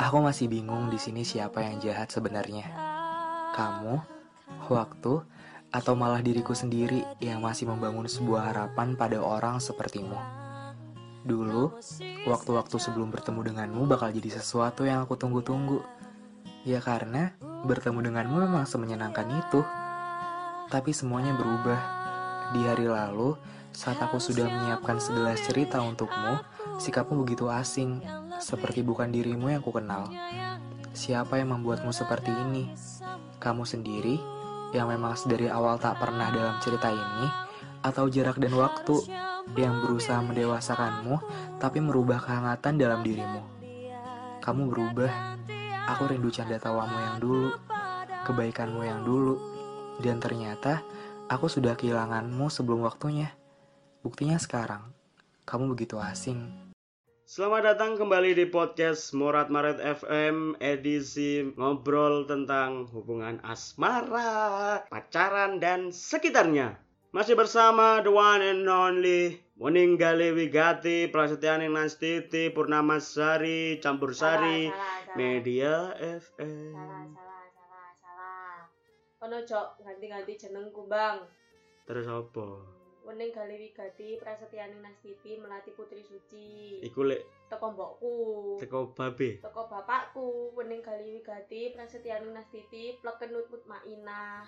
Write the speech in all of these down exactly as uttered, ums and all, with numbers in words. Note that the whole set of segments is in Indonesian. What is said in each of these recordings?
Aku masih bingung di sini siapa yang jahat sebenarnya. Kamu, waktu, atau malah diriku sendiri yang masih membangun sebuah harapan pada orang sepertimu. Dulu, waktu-waktu sebelum bertemu denganmu bakal jadi sesuatu yang aku tunggu-tunggu. Ya karena bertemu denganmu memang semenyenangkan itu. Tapi semuanya berubah. Di hari lalu, saat aku sudah menyiapkan segelas cerita untukmu, sikapmu begitu asing, seperti bukan dirimu yang kukenal. Siapa yang membuatmu seperti ini? Kamu sendiri, yang memang dari awal tak pernah dalam cerita ini, atau jarak dan waktu yang berusaha mendewasakanmu, tapi merubah kehangatan dalam dirimu. Kamu berubah. Aku rindu canda tawamu yang dulu, kebaikanmu yang dulu, dan ternyata aku sudah kehilanganmu sebelum waktunya. Buktinya sekarang, kamu begitu asing. Selamat datang kembali di podcast Morat Maret F M edisi ngobrol tentang hubungan asmara, pacaran, dan sekitarnya. Masih bersama the one and only Muninggali Wigati, Prasetyani Nastiti, Purnamasari, Campursari, salah, salah, salah. Media F M. Salah, salah, salah, salah. Kono cok ganti-ganti jenengku, Bang. Terus apa? Wening Gali Wigati, Prasetyani Nastiti, Melati Putri Suci. Iku lek Teko mbokku. teko babe. Teko bapakku, Wening Gali Wigati, Prasetyani Nastiti, Plekenut Mutmainah.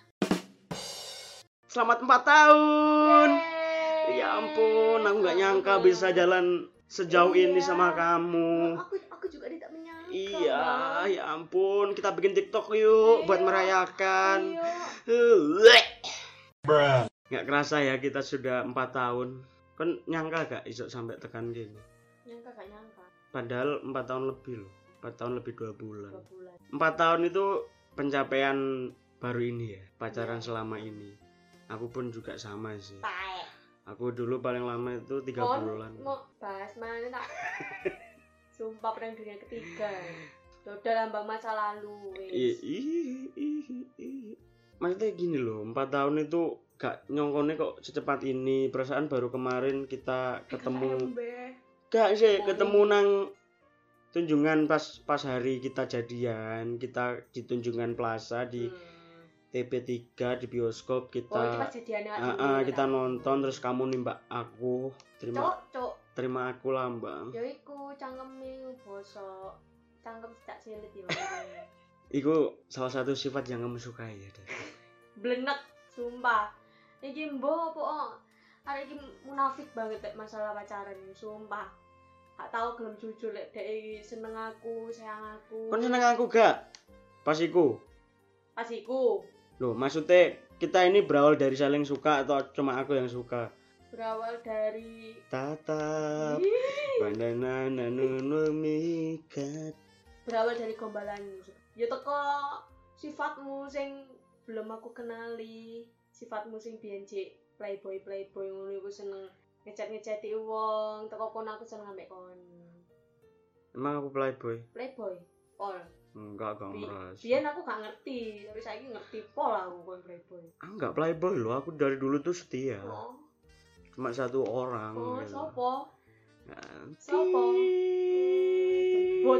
Selamat empat tahun. Yeay. Ya ampun, aku gak nyangka bisa jalan sejauh Iya. ini sama kamu. Aku aku juga tidak menyangka. Iya, Bang. ya ampun, kita bikin TikTok yuk buat Iya. merayakan. Iya. Gak kerasa ya kita sudah empat tahun. Kan nyangka gak isok sampai tekan gini. Nyangka gak nyangka. Padahal empat tahun lebih loh. empat tahun lebih dua bulan. Dua bulan. empat tahun itu pencapaian baru ini ya, pacaran Iya. selama ini. Aku pun juga sama sih. Tae. Aku dulu paling lama itu tiga Kon bulan. mau bahas mana tak? Sumpah perang dunia ketiga. Udah lambang masa lalu. Ih, Wis. ih, ih, ih. Maksudnya gini loh, empat tahun itu gak nyongkone kok secepat ini. Perasaan baru kemarin kita ketemu. Gak sih, ketemu nang Tunjungan pas pas hari kita jadian, kita di Tunjungan Plaza di Hmm. T P tiga di bioskop Oh, itu kita. pas jadiannya Ah, ah, kita nonton terus kamu nimbak aku, terima Cok, cok. terima aku lambang. Ya iku cangkeme bosok. Cangkem cak silit ya. Iku salah satu sifat yang kamu sukai ya. Dan. Blenek, sumpah. Iki mbok apa? Oh, arek iki munafik banget tek masalah pacaran, sumpah. Gak tau gelem jujur lek dek iki seneng aku, sayang aku. Kon seneng aku gak? Pas iku. Pas iku Loh, maksudnya kita ini berawal dari saling suka atau cuma aku yang suka? berawal dari Tatap Ih, bandana nanu mikat. berawal dari gombalanmu. Ya teko sifatmu sing belum aku kenali, sifatmu sing biyen jek playboy playboy ngono iku seneng ngechat-ngechati wong, teko kono aku seneng ambek kon. Emang aku playboy? Playboy. Pol. Enggak, gak Bi- merasa. Biyen aku gak ngerti, tapi saiki ngerti pol aku kon playboy. Aku enggak playboy loh, aku dari dulu tuh setia. Oh, Cuma satu orang. oh gitu. sopo? Nanti. Sopo? Jembut.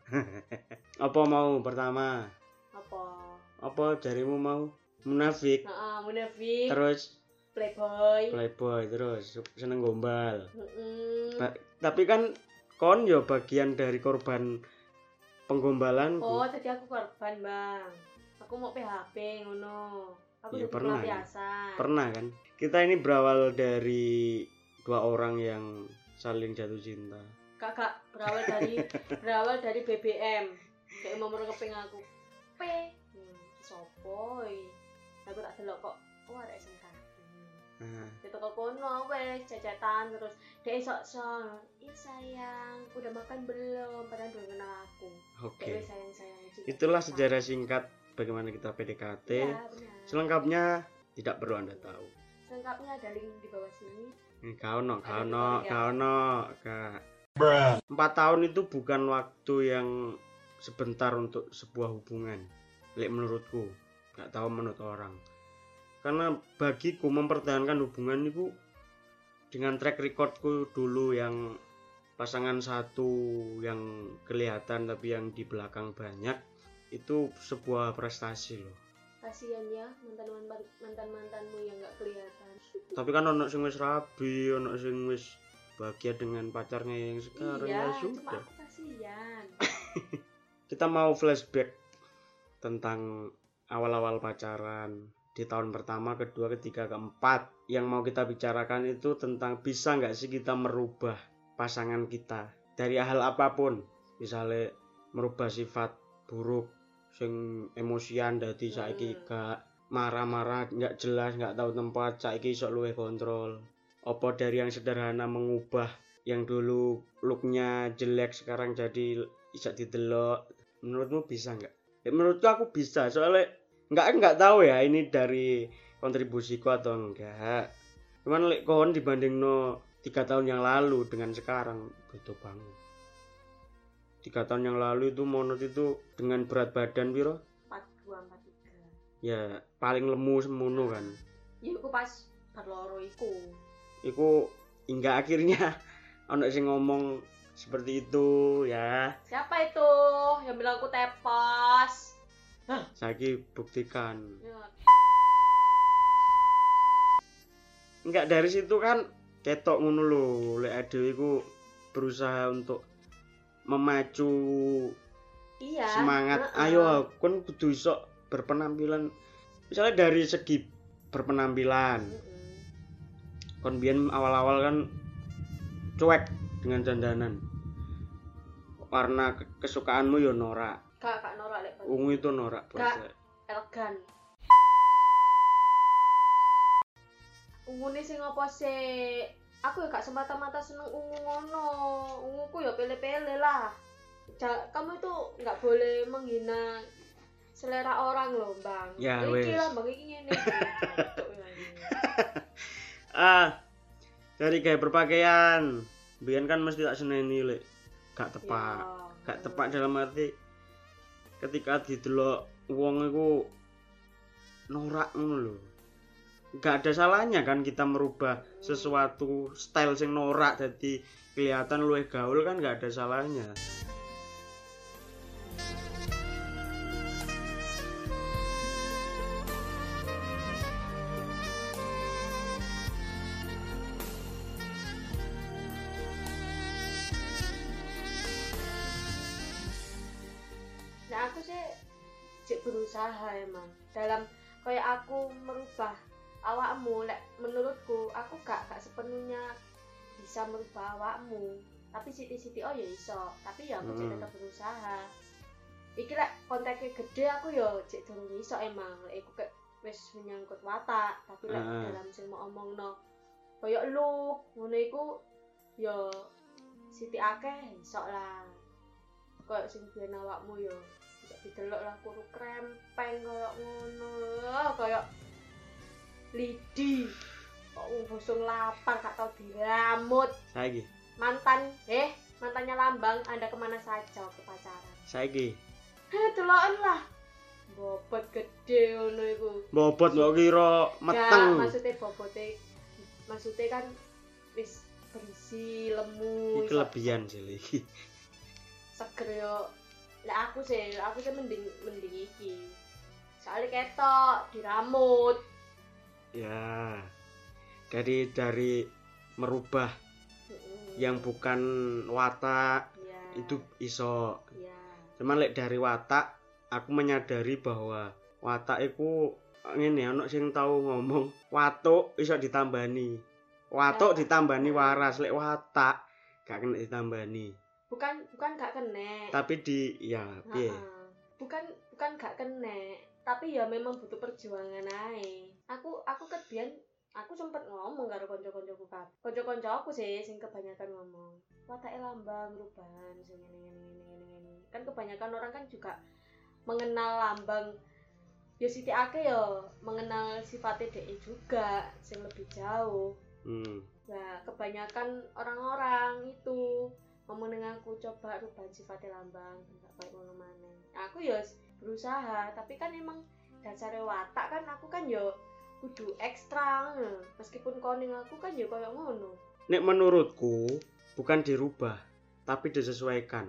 Apa mau pertama? Apa? Apa jarimu mau? Munafik. Heeh, munafik. Terus Playboy. playboy, terus seneng gombal. Heeh. Ba- tapi kan kon yo bagian dari korban penggombalanku. Oh, tadi aku korban, Bang. Aku mau P H P ngono. Aku Iya, jadi pernah, ya. pelampiasan. Pernah kan? Kita ini berawal dari dua orang yang saling jatuh cinta. Kakak berawal dari berawal dari B B M. Kayak mau ngeping aku. P. Hmm, sopo iki? Aku tak delok kok. Oh, ada S M K. Nah, Kita ke kono wes cecetan terus dia sok-sok. Iya sayang, udah makan belum? Padahal belum kenal aku. oke. Kayak wes sayang-sayang cinta. Itulah sejarah singkat bagaimana kita P D K T. Ya, benar. Selengkapnya tidak perlu Anda tahu. Selengkapnya ada link di bawah sini. Ini kau no, kau Ada no, tutorial. kau no, kak. Empat tahun itu bukan waktu yang sebentar untuk sebuah hubungan. Lek menurutku, nggak tahu menurut orang. Karena bagiku mempertahankan hubungan itu dengan track recordku dulu yang pasangan satu yang kelihatan tapi yang di belakang banyak, itu sebuah prestasi loh. Kasihan ya mantan-mantan mantan-mantanmu yang nggak kelihatan. Tapi kan ono sing wis rabi, ono sing wis bahagia dengan pacarnya yang sekarang. Iya, Ya cuma sudah. aku kasihan. Kita mau flashback tentang awal-awal pacaran di tahun pertama, kedua, ketiga, keempat. Yang mau kita bicarakan itu tentang bisa nggak sih kita merubah pasangan kita dari hal apapun. Misalnya merubah sifat buruk sing emosian dadi saiki gak marah-marah, nggak jelas, nggak tahu tempat, saiki iso luwih kontrol. Apa dari yang sederhana mengubah yang dulu looknya jelek sekarang jadi iso didelok. Menurutmu bisa nggak? Ya, menurutku aku bisa, soalnya nggak nggak tahu ya ini dari kontribusiku atau enggak. Cuman lek kon dibanding no tiga tahun yang lalu dengan sekarang beda banget. Tiga tahun yang lalu itu Monot itu dengan berat badan piro? empat dua empat tiga. Ya paling lemu semono kan. Ya aku pas bar loro iku. Iku hingga akhirnya ono sing ngomong seperti itu ya. Siapa itu yang bilang aku tepos? Saiki buktikan. Ya. Enggak, dari situ kan ketok ngono lho, lek adewe iku berusaha untuk memacu Iya. semangat. Uh-uh. Ayo kon kudu iso berpenampilan. Misalnya dari segi berpenampilan. Mm-mm. Kon biyen awal-awal kan cuek dengan dandanan. Warna kesukaanmu yo norak. Kak kak norak lek. Ungu itu norak Kak. bahasa. Elegan. Ungune sing apa sih? Aku ya gak semata-mata seneng ungu ngono. Unguku ya pele-pele lah. Ja, kamu itu nggak boleh menghina selera orang loh, Bang. Ya, iki wes. lah, Bang, iki ngene. Ah, dari gaya berpakaian. Biyen kan mesti tak seneni lek gak tepak. Ya. Gak tepak dalam arti ketika didelok wong iku norak ngono lho. Gak ada salahnya kan kita merubah sesuatu style sing norak jadi kelihatan luwih gaul kan gak ada salahnya. Nah, aku sih cek berusaha emang dalam kayak aku merubah awakmu. Lek menurutku aku gak gak sepenuhnya bisa merubah awakmu, tapi siti-siti oh ya iso, tapi ya aku cek Hmm. tetap berusaha. Iki lek kontaknya gede aku ya cek durung iso emang. Lek aku kayak wis menyangkut watak, tapi lek Heeh. dalam sing mau omongno koyo lu ngono iku ya siti akeh iso lah. Koyo sing biyen awakmu ya bisa didelok lah kuru krempeng koyo ngono, koyo lidi kok wong bosong lapar gak tau diramut. Saiki, Mantan eh mantannya Lambang, Anda kemana saja waktu pacaran? saiki. Heh, deloken lah bobot gede ngono iku. Bobot mbok kira Gak, meteng. maksudnya bobote maksudnya kan wis berisi lemu Iki iso kelebihan sih iki. seger yo. Lah aku sih, aku sih mending mending iki. Soalnya ketok diramut. Ya. Jadi dari merubah Mm-mm. yang bukan watak ya, itu iso. ya. Cuman lek dari watak aku menyadari bahwa watak iku ngene ana sing tau ngomong watuk iso ditambani. Watuk Ya. ditambani waras, lek watak gak kena ditambani. Bukan bukan gak kena. Tapi di ya piye? Ha-ha. Bukan bukan gak kena, tapi ya memang butuh perjuangan ae. Aku aku ket biyen aku sempet ngomong karo kanca-kancaku kabeh. Kanca-kancaku sih sing kebanyakan ngomong, watake Lambang rubahan sing ngene ngene ngene ngene. Kan kebanyakan orang kan juga mengenal Lambang ya siti akeh ya mengenal sifatnya dhek juga sing lebih jauh. Hmm. Nah, kebanyakan orang-orang itu ngomong dengan aku coba rubah sifatnya Lambang enggak baik ngono maneh. Aku ya berusaha, tapi kan emang dasare watak kan aku kan ya kudu ekstra ngono. Meskipun koning aku kan ya koyo ngono. Nek menurutku bukan dirubah, tapi disesuaikan.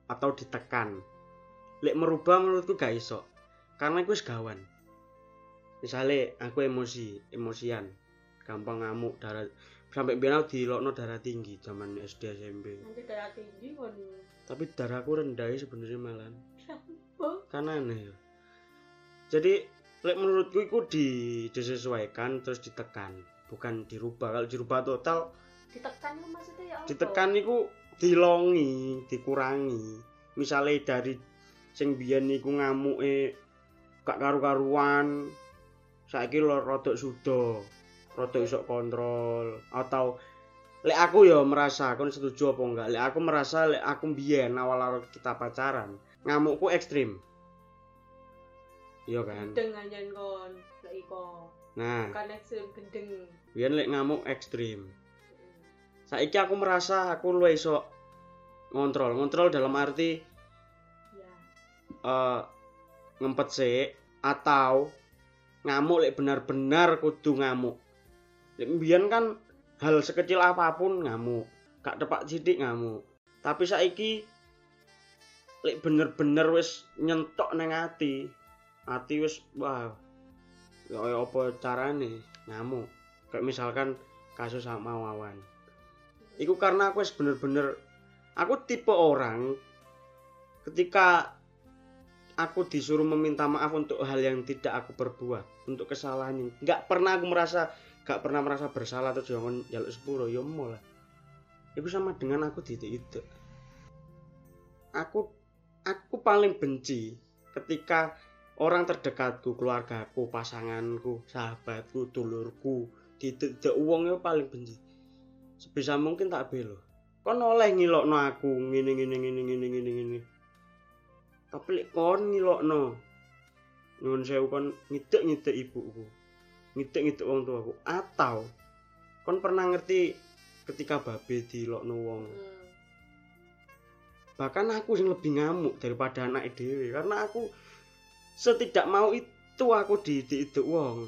atau ditekan. Lek merubah menurutku gak iso. Karena iku wis gawan. Misale aku emosi, emosian, gampang ngamuk, darah sampai biyen aku dilokno darah tinggi zaman S D S M P. Nanti darah tinggi kon. Tapi darahku rendah sebenarnya malah. Kenapa? Kan aneh ya. Jadi lek menurutku iku di disesuaikan terus ditekan, bukan dirubah. Kalau dirubah total Ditekan itu maksudnya ya apa? ditekan niku dilongi, dikurangi. Misale dari sing biyen niku ngamuke gak karu-karuan, saiki lho rodok suda, rodok iso kontrol. Atau lek aku ya merasa, kon setuju apa enggak? Lek aku merasa lek aku biyen awal-awal kita pacaran, ngamukku ekstrim. Iya kan? Gendeng anjen kon, lek iko. Nah, Bukan ekstrim gendeng. biyen lek ngamuk ekstrim. Saiki aku merasa aku luwih iso ngontrol. Ngontrol dalam arti Ya. uh, ngempet sik atau ngamuk lek benar-benar kudu ngamuk. Lek mbiyen kan hal sekecil apapun ngamuk, gak tepak sithik ngamuk. Tapi saiki lek bener-bener wis nyentok nang ati, ati wis wah kaya apa carane ngamuk. Kayak misalkan kasus sama Wawan. Iku karena aku wis bener-bener aku tipe orang ketika aku disuruh meminta maaf untuk hal yang tidak aku perbuat, untuk kesalahan yang enggak pernah aku merasa enggak pernah merasa bersalah terus jangan njaluk sepuro ya mola. Itu sama dengan aku didik-didik. Aku aku paling benci ketika orang terdekatku, keluargaku, pasanganku, sahabatku, dulurku didik wong yo paling benci. Sebisa mungkin tak belo. Kon oleh ngilokno aku ngene ngene ngene ngene ngene ngene. Tapi lek kon ngilokno nyuwun sewu kon ngidek-ngidek ibuku. Ngidek-ngidek wong tuaku atau kon pernah ngerti ketika babe dilokno wong. Hmm. Bahkan aku yang lebih ngamuk daripada anak dhewe karena aku setidak mau itu aku didik-didik wong.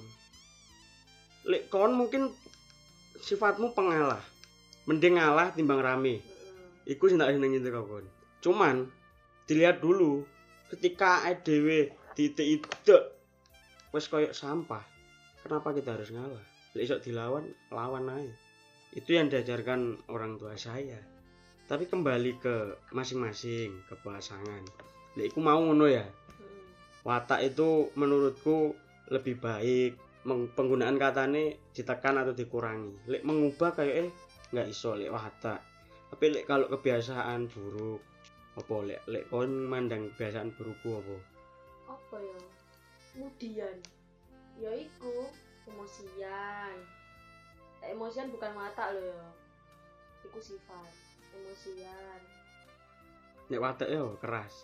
Lek kon mungkin sifatmu pengalah. Mending ngalah timbang rame. Hmm. Iku sing tak senengi teko kon. Cuman dilihat dulu ketika dhewe didik-didik wis koyo sampah. Kenapa kita harus ngalah? Lek iso dilawan, lawan aja. Itu yang diajarkan orang tua saya. Tapi kembali ke masing-masing, ke pasangan. Lek iku mau ngono ya. Hmm. Watak itu menurutku lebih baik. Penggunaan katane ditekan atau dikurangi. Lek mengubah kayak eh nggak iso lek watak. Tapi lek kalau kebiasaan buruk, apa lek lek kon mandang kebiasaan burukku apa? Apa ya? Kemudian ya iku emosian. Eh, emosian bukan watak loh ya. Iku sifat. Emosian. Nek watak yo keras.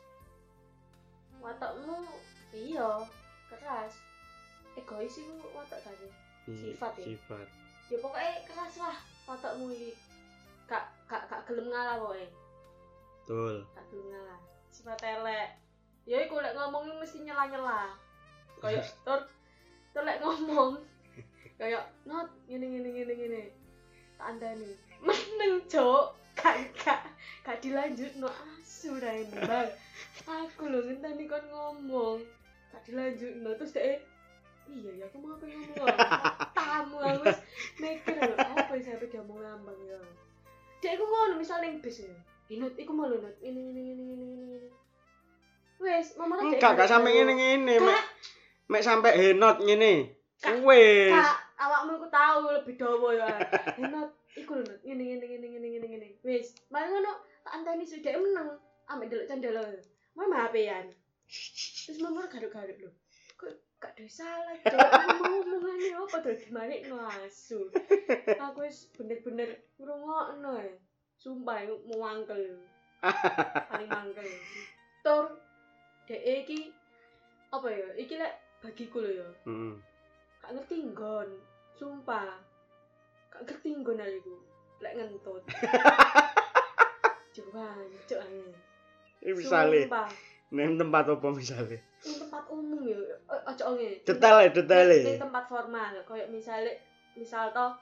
Watakmu iya keras. Egois iku watak tadi. Sifat ya? Sifat. Ya pokoknya keras lah watakmu iki. Kak kak kak gelem ngalah pokoknya. Betul. Kak gelem ngalah. Sifat elek. Ya iku lek ngomong mesti nyela-nyela. Kayak tur tur lek ngomong kayak not ngene ngene ngene ngene. Tak andani. Meneng, Cuk. Kak kak kak dilanjutno asu ra Bang. Aku lho ngenteni kon ngomong. Kak dilanjutno terus dhek iya ya aku mau pengen ngomong tamu aku wis mikir lho apa sih sampe dia mau ngambang ya dek aku ngono misal ning bis ya inut iku mau lho nut ini ini ini ini ini wis mama dek Enggak gak sampe ngene-ngene mek mek sampe henot ngene wis kak awakmu iku tahu lebih dawa ya henot iku lho nut ngene ngene ngene ngene ngene ngene wis mari ngono tak anteni sudah meneng ambek delok candela mama H P-an terus mama garuk-garuk lho gak ada salah, jangan ngomongane apa tuh dibalik ngasu. Aku wis bener-bener ngrungokno ya. Sumpah mau mangkel. Paling mangkel. Tur dek iki apa ya? Iki lek bagiku lho ya. Heeh. Gak ngerti nggon. Sumpah. Gak ngerti nggon aku. Lek ngentut. Coba, coba. Misale Sumpah. nang tempat apa misale? Ning tempat umum ya, ojo ngene. Detail detail. Ning tempat formal, koyo misale misal to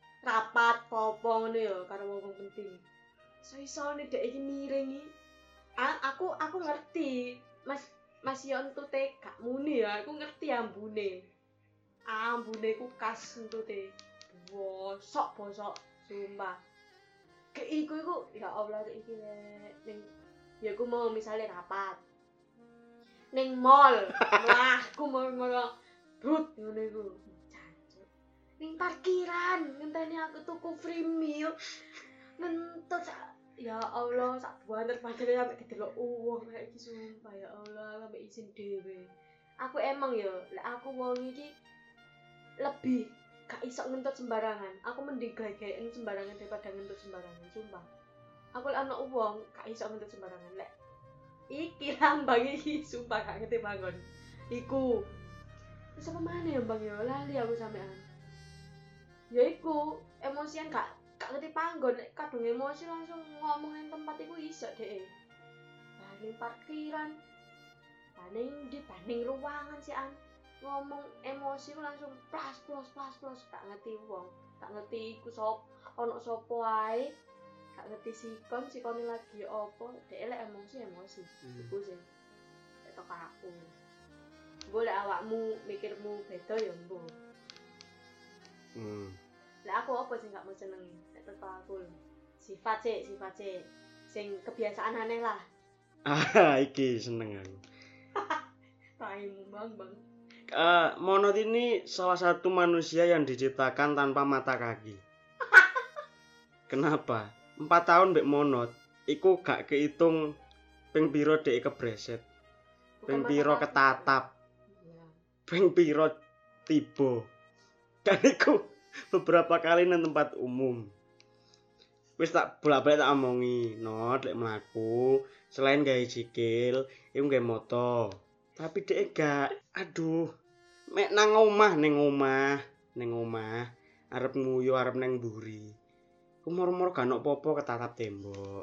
rapat apa ngono ya karo wong penting. So-isone dek iki miring iki A- aku aku ngerti mas mas yo entute gak muni ya aku ngerti ambune ambune ku khas entute bosok bosok sumpah ke iku iku ya Allah iki lek ning ya aku mau misalnya rapat ning mall wah aku mau ngono brut ngono iku jancuk ning parkiran ngenteni aku tuku free meal ngentut ya Allah sak banter-banter sampe kedelok uwong kayak iki sumpah ya Allah sampe izin dhewe aku emang ya lek aku wong iki lebih gak iso ngentut sembarangan aku mending gawe-gawean sembarangan daripada ngentut sembarangan sumpah aku lek ana wong gak iso ngentut sembarangan lek iki lambang iki sumpah gak ngerti bangun iku terus apa mana ya bang ya lali aku sampean ya iku emosian gak gak ngerti panggon nek kadung emosi langsung ngomongin tempat iku iso deh paling parkiran paling di paling ruangan sih an ngomong emosi langsung plas plas plas plas gak ngerti wong gak ngerti iku sop ono sopo ae gak ngerti sikon sikone lagi opo dhek lek emosi emosi Hmm. iku sih tok aku boleh awakmu mikirmu beda ya mbo Hmm. lek aku apa sih gak mau senengi nek teko aku lho sifat sih sifat sih sing kebiasaan aneh lah Ah, iki seneng aku. taimu bang bang Uh, monot ini salah satu manusia yang diciptakan tanpa mata kaki. Kenapa? Empat tahun mbek monot, iku gak kehitung ping piro dek kebreset, ping piro ketatap, iya ping piro tiba. Dan iku beberapa kali nang tempat umum. Wis tak bolak-balik tak omongi, not lek mlaku, selain gawe sikil, iku gawe moto. Tapi dek gak, aduh. Mek nang omah ning omah, ning omah, arep nguyu arep nang mburi. Ku moro-moro gak ono apa-apa ketatap tembok.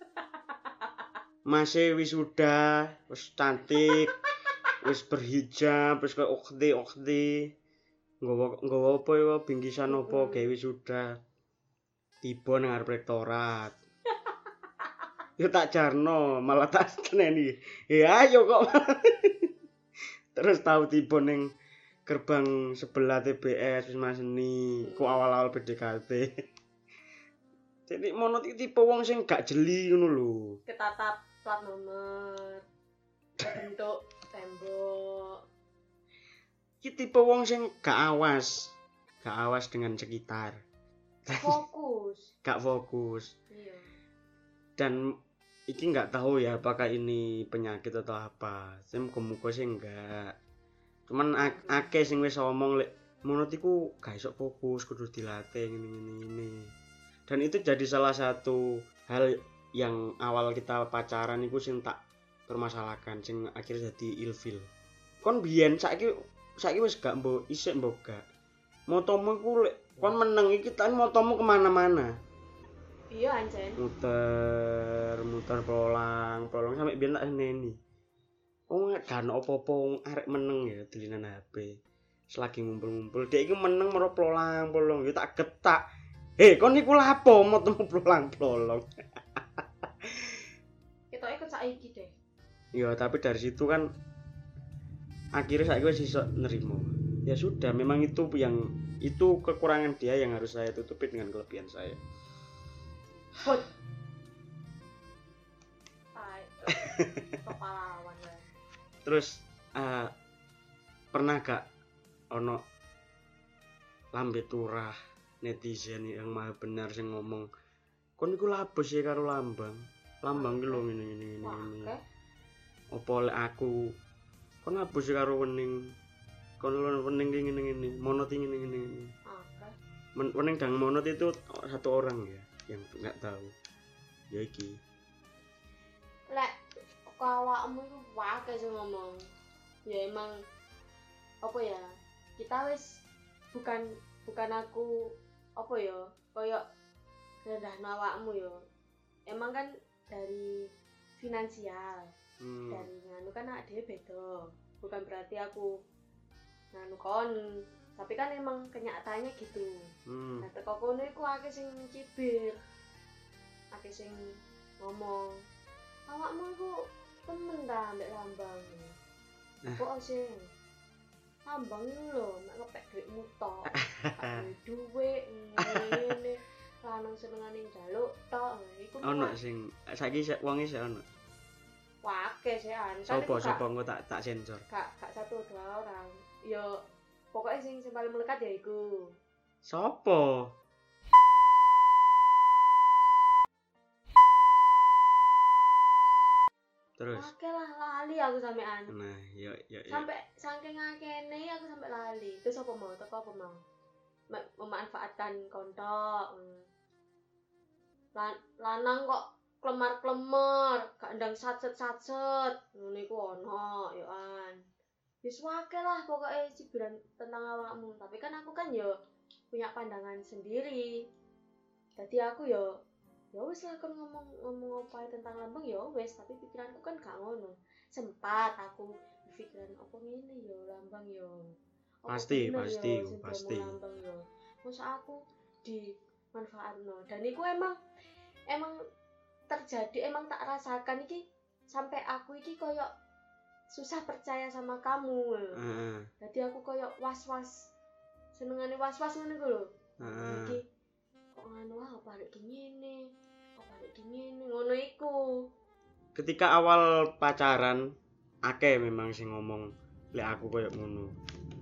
Masih wisuda, wis cantik, wis berhijab, wis koyo okti-okti. Nggawa nggawa apa ya bingkisan apa gawe wisuda. Tiba nang arep rektorat. Yo tak jarno, malah tak seneni. Ya ayo kok. Terus tahu tiba ning gerbang sebelah T B S Wisma Seni, ku awal-awal P D K T. Jadi monot iki tipe wong sing gak jeli ngono lho. ketatap plat nomor bentuk tembok Iki tipe wong sing gak awas, gak awas dengan sekitar, fokus gak fokus. iya Dan iki nggak tahu ya apakah ini penyakit atau apa. Saya muka-muka sih enggak. Cuman ak- akeh sing wis ngomong lek monot iku gak iso fokus, kudu dilatih ngene-ngene ngene. Dan itu jadi salah satu hal yang awal kita pacaran iku sing tak permasalahkan, sing akhirnya jadi ilfil. Kon biyen saiki saiki wis gak mbok isik mbok gak. Motomu iku lek kon meneng iki tan motomu kemana-mana. iya anjen Muter, muter polang, polang sampai biyen tak seneni. Oh, gak ono apa-apa wong arek meneng ya dilinan H P. Selagi ngumpul-ngumpul, dhek iki meneng mero polang-polong, ya tak getak. Heh, kon niku lapo motemu polang-polong. kita ikut saiki deh Ya, tapi dari situ kan akhirnya saya wis iso nerimo. Ya sudah, memang itu yang itu kekurangan dia yang harus saya tutupi dengan kelebihan saya. Hot. Tai. Kepala lawan gue. Terus uh, pernah gak ono lambe turah netizen yang maha benar sing ngomong kon iku labes ya karo lambang lambang ki lho ngene ngene ngene ngene apa lek aku kon labes ya karo wening kon lho wening ki ngene ngene monot ngene ngene ngene Oke. wening dan monot itu satu orang ya yang nggak tahu ya iki Lek kok awakmu iku wae sing ngomong. Ya emang apa ya? Kita wis bukan bukan aku apa ya? Kayak rendahno awakmu ya. Emang kan dari finansial, hmm. dari nganu kan awake dhewe beda. Bukan berarti aku nganu kon, tapi kan emang kenyataannya gitu. Hmm. Nah, teko kono iku akeh sing cibir. Akeh sing ngomong awakmu iku temen ta ambek lambang. Nah. Kok sih? Lambang iku lho, mek ngepek duitmu tok. Gak duwe ngene. Lanang senengane njaluk tok. Iku Ono sing saiki sik wonge sik ono. Wake sih an. Sopo sopo engko tak tak sensor. Gak gak satu dua orang. Yo pokoknya sing sing paling melekat ya iku. Sopo? Terus. Oke lah lali aku sampean. Nah, yo yo yo. Sampai saking akene aku sampai lali. Terus apa mau? Teko apa mau? Mem- memanfaatkan kontok. Lan lanang kok klemar-klemar, gak ndang satset-satset. Ngono iku ono yo an. Wis wake lah pokoknya cibiran tentang awakmu. Tapi kan aku kan yo punya pandangan sendiri. Jadi aku yo ya wis lah kan ngomong-ngomong apa tentang lambang ya wis, tapi pikiranku kan gak ngono. Sempat aku berpikiran apa ngene ya lambang ya. Pasti, pasti, pasti. Lambang ya. Masa aku dimanfaatno. Dan iku emang emang terjadi, emang tak rasakan iki sampai aku iki koyo susah percaya sama kamu. Heeh. Jadi aku koyo was-was. Senengane was-was ngono iku lho. Heeh. Iki kok ngono wae apa arek ngene. Apa arek ngene ngono iku. Ketika awal pacaran akeh memang sing ngomong lek aku koyo ngono.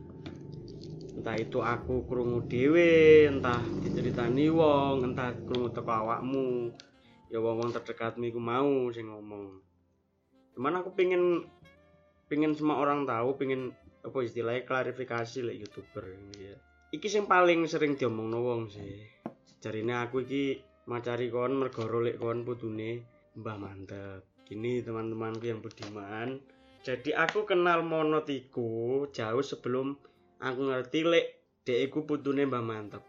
Entah itu aku krungu dhewe, entah diceritani wong, entah krungu teko awakmu. Ya wong-wong terdekatmu iku mau sing ngomong. Cuman aku pengen pengen semua orang tahu, pengen apa istilahnya klarifikasi lek YouTuber ini ya. Iki sing paling sering diomongno wong sih. Jarine aku iki macari kon mergo lek kon putune Mbah Mantep. Gini teman-temanku yang budiman. Jadi aku kenal Monot iku jauh sebelum aku ngerti lek dek iku putune Mbah Mantep.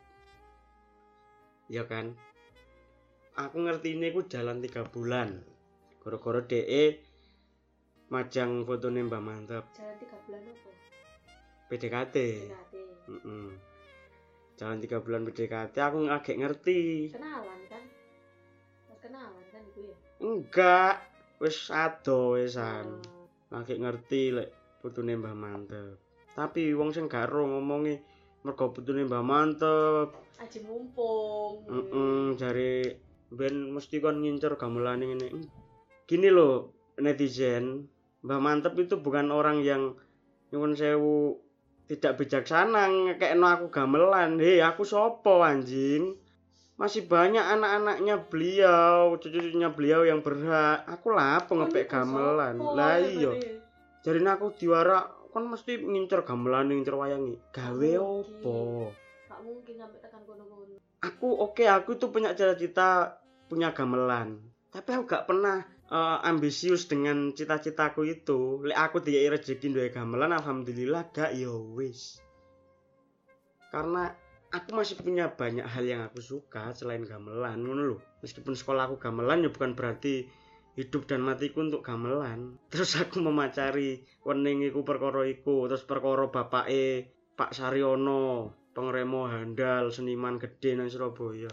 Ya kan? Aku ngerti ini ku jalan tiga bulan. Gara-gara dek majang fotone Mbah Mantep. Jalan tiga bulan apa? P D K T. Berarti Heeh. Jalan tiga bulan P D K T aku agak ngerti. kenalan kan? Mas kenalan kan iku ya? Enggak, wis ado wisan. Oh. Agak ngerti lek putune Mbah Mantep. Tapi wong sing garo ngomongi mergo putune Mbah Mantep. Aji mumpung. Heeh, jare ben mesti kon ngincer gamelane ngene. Gini loh, netizen, Mbah Mantep itu bukan orang yang nyuwun sewu tidak bijaksana ngekekno aku gamelan. Hei, aku sopo anjing? Masih banyak anak-anaknya beliau, cucu-cucunya beliau yang berhak. Aku lapo ngepek gamelan. Lah iya. Jarine aku diwara kon mesti ngincer gamelan, ngincer wayangi. Gawe opo? Gak mungkin sampai tekan kono-kono. Aku oke, okay, aku tuh punya cita-cita punya gamelan. Tapi aku gak pernah uh, ambisius dengan cita-citaku itu. Lek aku dikai rezeki duwe gamelan, alhamdulillah gak ya wis. Karena aku masih punya banyak hal yang aku suka selain gamelan, ngono lho. Meskipun sekolah aku gamelan ya bukan berarti hidup dan matiku untuk gamelan. Terus aku memacari wening iku perkara iku, terus perkara bapake Pak Saryono, pengremo handal, seniman gede nang Surabaya.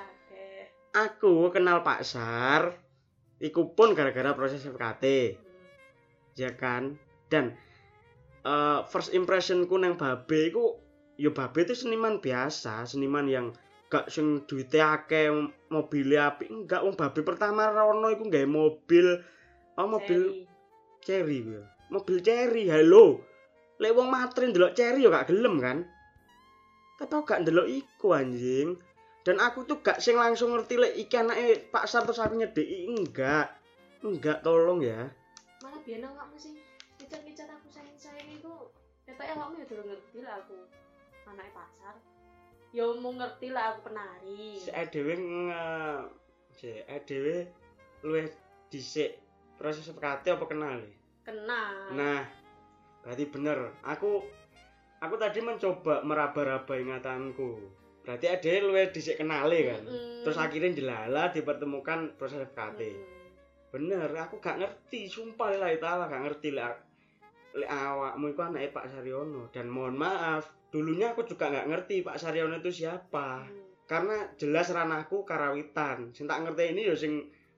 Aku kenal Pak Sar iku pun gara-gara proses F K T. Ya kan? Dan uh, first impressionku nang Babe iku ya Babe itu seniman biasa, seniman yang gak sing duwite akeh, mobil apik. Enggak, wong Babe pertama rono iku gawe mobil, oh mobil Cherry kuwi. Mobil Cherry. Halo. Lek wong matri ndelok Cherry ya gak gelem kan? Tapi aku gak ndelok iku anjing. Dan aku tuh gak sing langsung ngerti lek iki anake Pak Sar terus aku nyedeki, enggak. Enggak, tolong ya. Malah biyen awakmu sing ngecat-ngecat aku sayang-sayang iku, ketoke awakmu ya durung ngerti lah aku anake Pak Sar. Ya mau ngerti lah aku penari. Si dhewe nge si dhewe luwih dhisik proses F K T apa kenal? Kenal. Nah, berarti bener. Aku aku tadi mencoba meraba-raba ingatanku. Berarti ade luwih dhisik kenale kan. Mm-hmm. Terus akhirnya jelala dipertemukan proses F K T. Mm-hmm. Bener, aku gak ngerti, sumpah lillahi taala gak ngerti lek lek awakmu iku anake Pak Saryono. Dan mohon maaf, dulunya aku juga gak ngerti Pak Saryono itu siapa. Mm. Karena jelas ranahku karawitan. Sing tak ngerti ini ya sing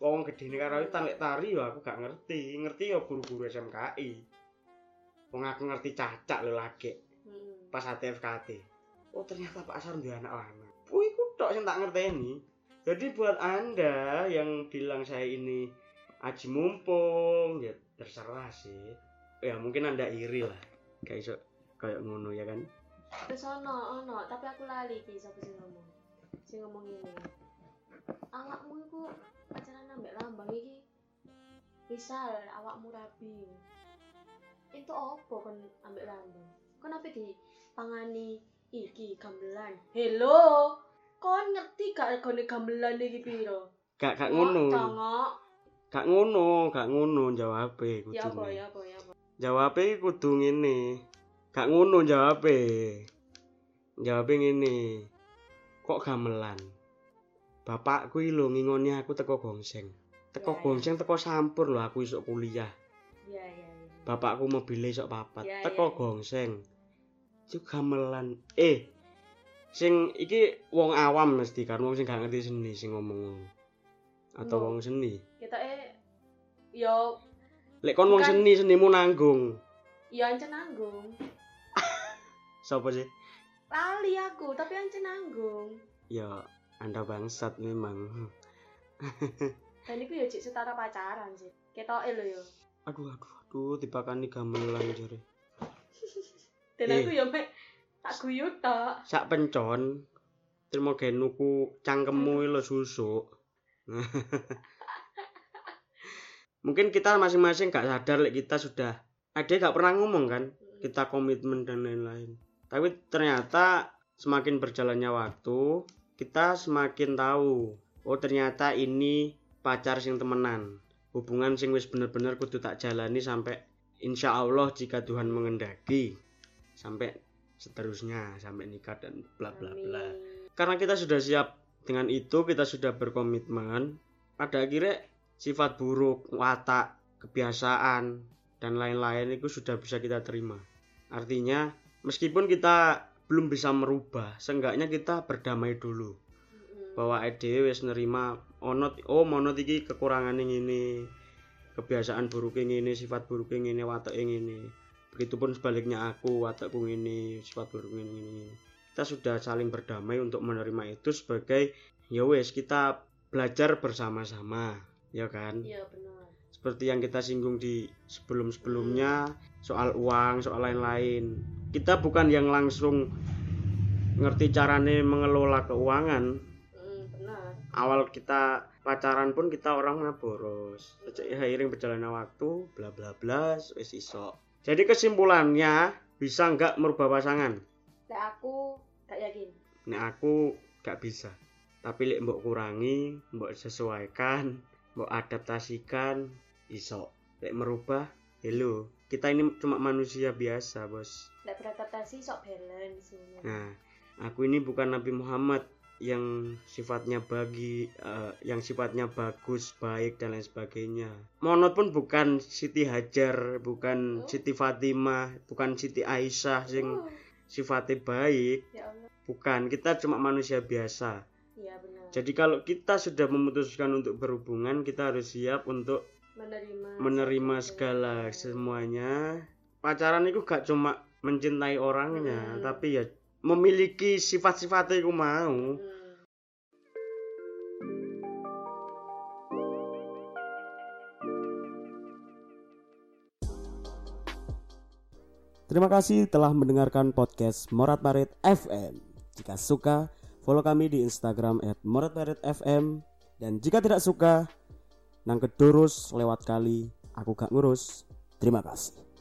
wong gedene karawitan lek tari yo aku gak ngerti. Ngerti yo guru-guru S M K I. Wong aku ngerti cacak lho lagi. Hmm. Pas H T F K T. Oh ternyata Pak Asar duwe anak lanang. Oh iku tok sing tak ngerteni. Jadi buat Anda yang bilang saya ini aji mumpung, ya terserah sih. Ya mungkin Anda iri lah. Kayak iso kayak ngono ya kan. Terus ono ono, tapi aku lali iki sapa sing ngomong. Sing ngomong ini. Awakmu iku pacaran ambek lambang iki. Misal awakmu rabi. Itu opo kon ambek lambang? Kon apa di pangani iki gamelan. Hello. Kon ngerti gak regane gamelan iki piro? Gak gak ngono. Congok. Gak ngono, gak ngono jawabe kudu. Ya apa ya apa ya apa. Jawabe kudu ngene. Gak ngono jawabe. Jawabe ngene. Kok gamelan? Bapakku iki lho ngingoni aku teko gongseng. Teko Ya, ya. gongseng teko sampur lho aku isuk kuliah. Iya iya iya. Bapakku mobilnya isuk papat. Ya, Teko ya. gongseng. Itu gamelan. Eh. Sing iki wong awam mesti kan wong sing gak ngerti seni sing ngomong ngono. Atau Mbok. wong seni. Kita eh yo Lek kon wong Bukan. seni senimu nanggung. yo ancen nanggung. Sapa sih? Lali aku, tapi ancen nanggung. Ya Anda bangsat memang. Dan iku yo cek setara pacaran sih. Ketoke lho yo. Aduh aduh aduh dipakani gamelan jare. Dan Eh. aku yo mek tak guyu tok. Sak pencon terima genuku cangkemmu lho susuk. Mungkin kita masing-masing gak sadar lek kita sudah ada gak pernah ngomong kan kita komitmen dan lain-lain. Tapi ternyata semakin berjalannya waktu kita semakin tahu oh ternyata ini pacar sing temenan. Hubungan sing wis bener-bener kudu tak jalani sampai insya Allah jika Tuhan mengendaki sampai seterusnya sampai nikah dan bla bla bla. Amin. Karena kita sudah siap dengan itu, kita sudah berkomitmen. Pada akhirnya sifat buruk, watak, kebiasaan dan lain-lain itu sudah bisa kita terima. Artinya meskipun kita belum bisa merubah, seenggaknya kita berdamai dulu. Mm-mm. Bahwa ide wis nerima ono oh monot iki kekurangane ngene. Kebiasaan buruknya ngene, sifat buruknya ngene, watake ngene. Begitupun sebaliknya aku, watakku ngene, sifat buruknya ngene. Kita sudah saling berdamai untuk menerima itu sebagai ya wes kita belajar bersama-sama, ya kan? Iya benar. Seperti yang kita singgung di sebelum-sebelumnya soal uang, soal lain-lain. Kita bukan yang langsung ngerti carane mengelola keuangan. Mm, benar. Awal kita pacaran pun kita orangnya boros. Seiring berjalannya waktu, bla bla bla, wis iso. Jadi kesimpulannya bisa nggak merubah pasangan? Lek aku gak yakin. Nek aku gak bisa. Tapi lek mbok kurangi, mbok sesuaikan, mbok adaptasikan, iso. Lek merubah, hello. Kita ini cuma manusia biasa, Bos. Lek beradaptasi sok balance semuanya. Nah, aku ini bukan Nabi Muhammad yang sifatnya bagi uh, yang sifatnya bagus, baik dan lain sebagainya. Monot pun bukan Siti Hajar, bukan Oh. Siti Fatimah, bukan Siti Aisyah sing Uh, sifatnya baik. ya Allah. Bukan, kita cuma manusia biasa. Iya benar. Jadi kalau kita sudah memutuskan untuk berhubungan, kita harus siap untuk menerima menerima satu segala dengan- semuanya. Pacaran itu gak cuma mencintai orangnya, Hmm. tapi ya memiliki sifat-sifatnya itu mau. Hmm. Terima kasih telah mendengarkan podcast Morat Marit F M. Jika suka, follow kami di Instagram et morat marit f m. Dan jika tidak suka, nang kedurus lewat kali, aku gak ngurus. Terima kasih.